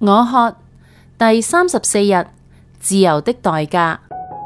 我渴第34日，自由的代價。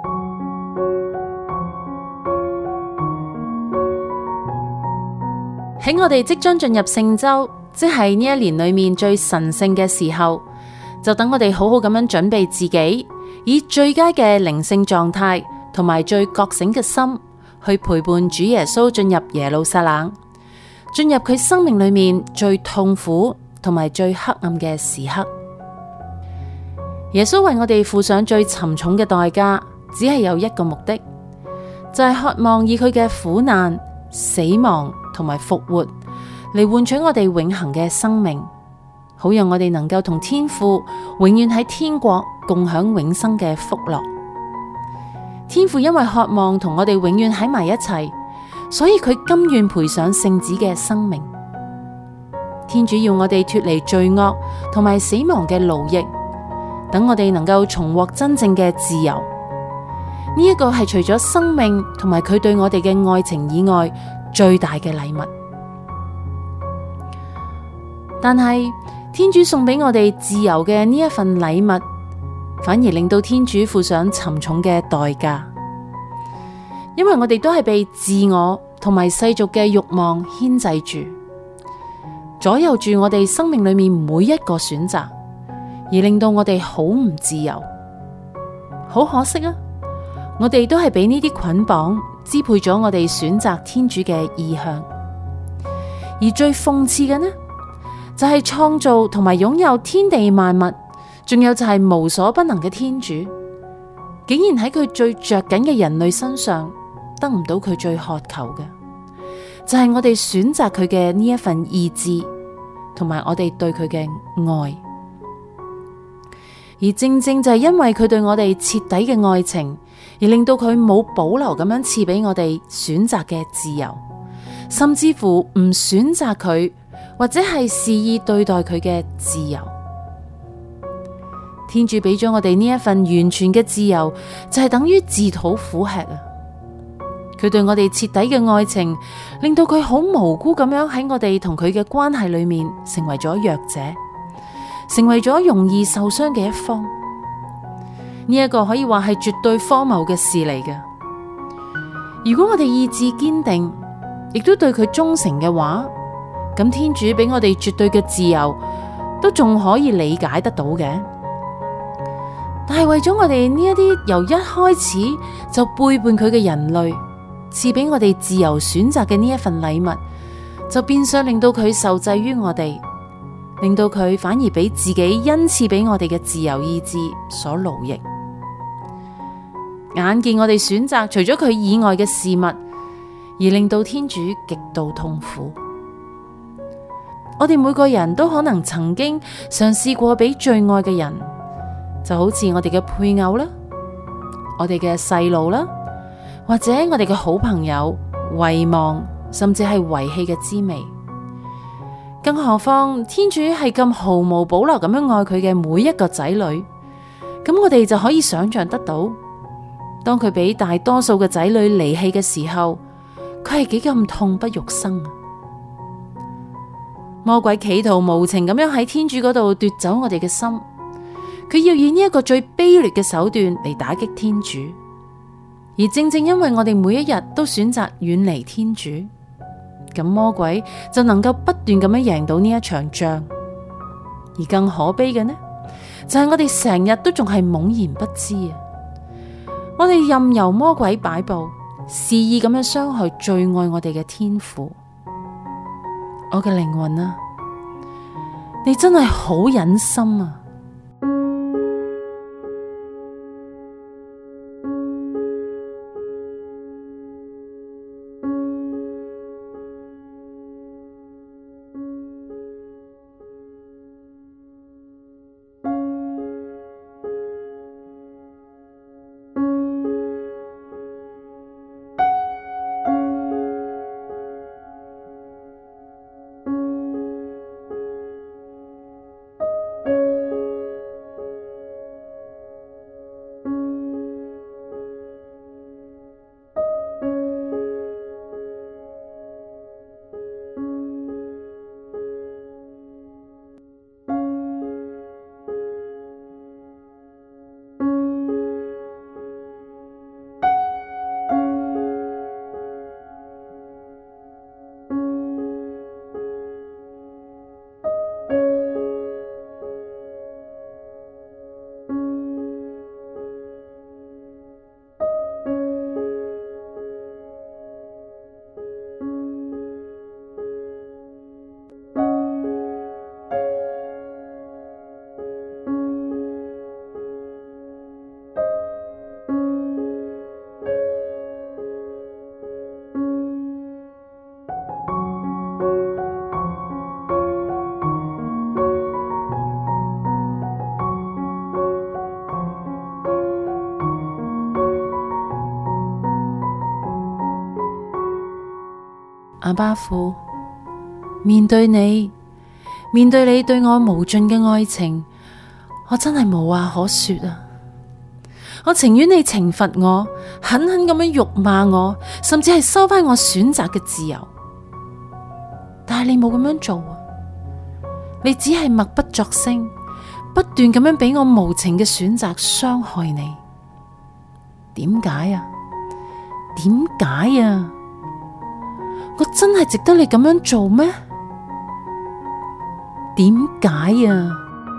喺我哋即將進入聖週，即係呢一年裏面最神聖嘅時候，就等我哋好好咁樣準備自己，以最佳嘅靈性狀態同埋最覺醒嘅心去陪伴主耶穌進入耶路撒冷，進入佢生命裏面最痛苦同埋最黑暗嘅時刻。耶穌為我哋付上最沉重嘅代價，只係有一個目的，就係渴望以佢嘅苦難、死亡同埋復活嚟換取我哋永恆嘅生命，好讓我哋能夠同天父永遠喺天國共享永生嘅福樂。天父因為渴望同我哋永遠喺埋一齊，所以佢甘願賠上聖子嘅生命。天主要我哋脫離罪惡同埋死亡嘅奴役，等我哋能夠重獲真正嘅自由。呢一個係除咗生命同埋佢對我哋嘅愛情以外最大嘅禮物。但係天主送俾我哋自由嘅呢一份禮物，反而令到天主付上沉重嘅代價，因為我哋都係被自我同埋世俗嘅慾望牽制住，左右住我哋生命裏面每一個選擇，而令到我哋好唔自由。好可惜啊，我哋都係俾呢啲捆綁支配咗我哋選擇天主嘅意向。而最諷刺嘅呢，就係創造同埋擁有天地萬物，仲有就係無所不能嘅天主，竟然喺佢最着緊嘅人類身上得唔到佢最渴求嘅，就係我哋選擇佢嘅呢一份意志，同埋我哋對佢嘅愛。而正正就係因為佢對我哋徹底嘅愛情，而令到佢冇保留咁樣賜俾我哋選擇嘅自由，甚至乎唔選擇佢，或者係肆意對待佢嘅自由。天主俾咗我哋呢一份完全嘅自由，就係等於自討苦吃啊！佢對我哋徹底嘅愛情，令到佢好無辜咁樣喺我哋同佢嘅關係裏面成為咗弱者，成為咗容易受傷嘅一方。呢一個可以話係絕對荒謬嘅事嚟嘅。如果我哋意志堅定，亦都對佢忠誠嘅話，咁天主俾我哋絕對嘅自由，都仲可以理解得到嘅。但係為咗我哋呢一啲由一開始就背叛佢嘅人類，賜俾我哋自由選擇嘅呢一份禮物，就變相令到佢受制於我哋，令到佢反而俾自己恩賜俾我哋嘅自由意志所奴役。眼見我哋選擇除咗佢以外嘅事物，而令到天主極度痛苦。我哋每個人都可能曾經嘗試過俾最愛嘅人，就好似我哋嘅配偶啦，我哋嘅細路啦，或者我哋嘅好朋友遺忘，甚至係遺棄嘅滋味。更何況天主係咁毫無保留咁樣愛佢嘅每一個仔女，咁我哋就可以想象得到，當佢俾大多數嘅仔女離棄嘅時候，佢係幾咁痛不欲生啊！魔鬼企圖無情咁樣喺天主嗰度奪走我哋嘅心，佢要以呢一個最卑劣嘅手段嚟打擊天主。而正正因為我哋每一日都選擇遠離天主，咁魔鬼就能夠不斷咁樣贏到呢一場仗。而更可悲嘅呢，就係我哋成日都仲係懵然不知啊！我哋任由魔鬼擺布，肆意咁樣傷害最愛我哋嘅天父。我嘅靈魂啊，你真係好忍心啊！ 阿爸父，面對你對我無盡嘅愛情，我真係無話可說啊！我情願你懲罰我，狠狠咁樣辱罵我，甚至係收返我選擇嘅自由。但係你冇咁樣做啊！你只係默不作聲，不斷咁樣俾我無情嘅選擇傷害你。點解啊？點解啊？我真係值得你咁樣做咩？點解啊？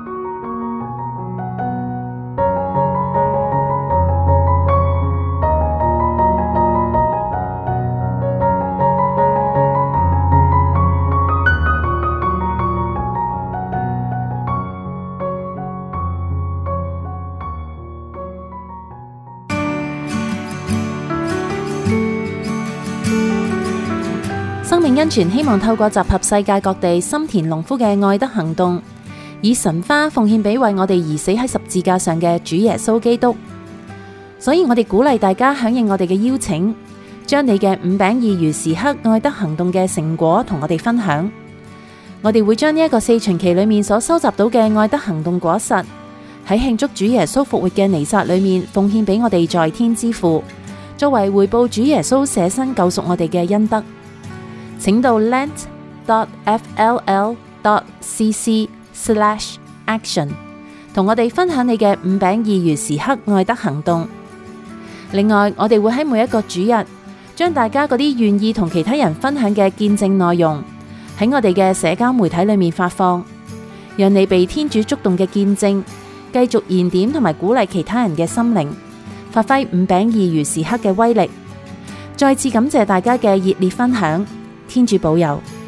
生命恩泉希望透過集合世界各地心田農夫嘅愛德行動，以神花奉獻俾為我哋而死喺十字架上嘅主耶穌基督。所以我哋鼓勵大家響應我哋嘅邀請，將你嘅5餅2魚時刻愛德行動嘅成果同我哋分享。我哋會將呢一個4旬期裏面所收集到嘅愛德行動果實，喺慶祝主耶穌復活嘅彌撒裏面奉獻俾我哋在天之父，作為回報主耶穌捨身救贖我哋嘅恩德。請到 lent.fll.cc/action 同我哋分享你嘅5餅2魚時刻愛德行動。另外，我哋會喺每一個主日，將大家嗰啲願意同其他人分享嘅見證內容，喺我哋嘅社交媒體裏面發放，讓你被天主觸動嘅見證，繼續燃點同埋鼓勵其他人嘅心靈，發揮5餅2魚時刻嘅威力。再次感謝大家嘅熱烈分享。天主保佑。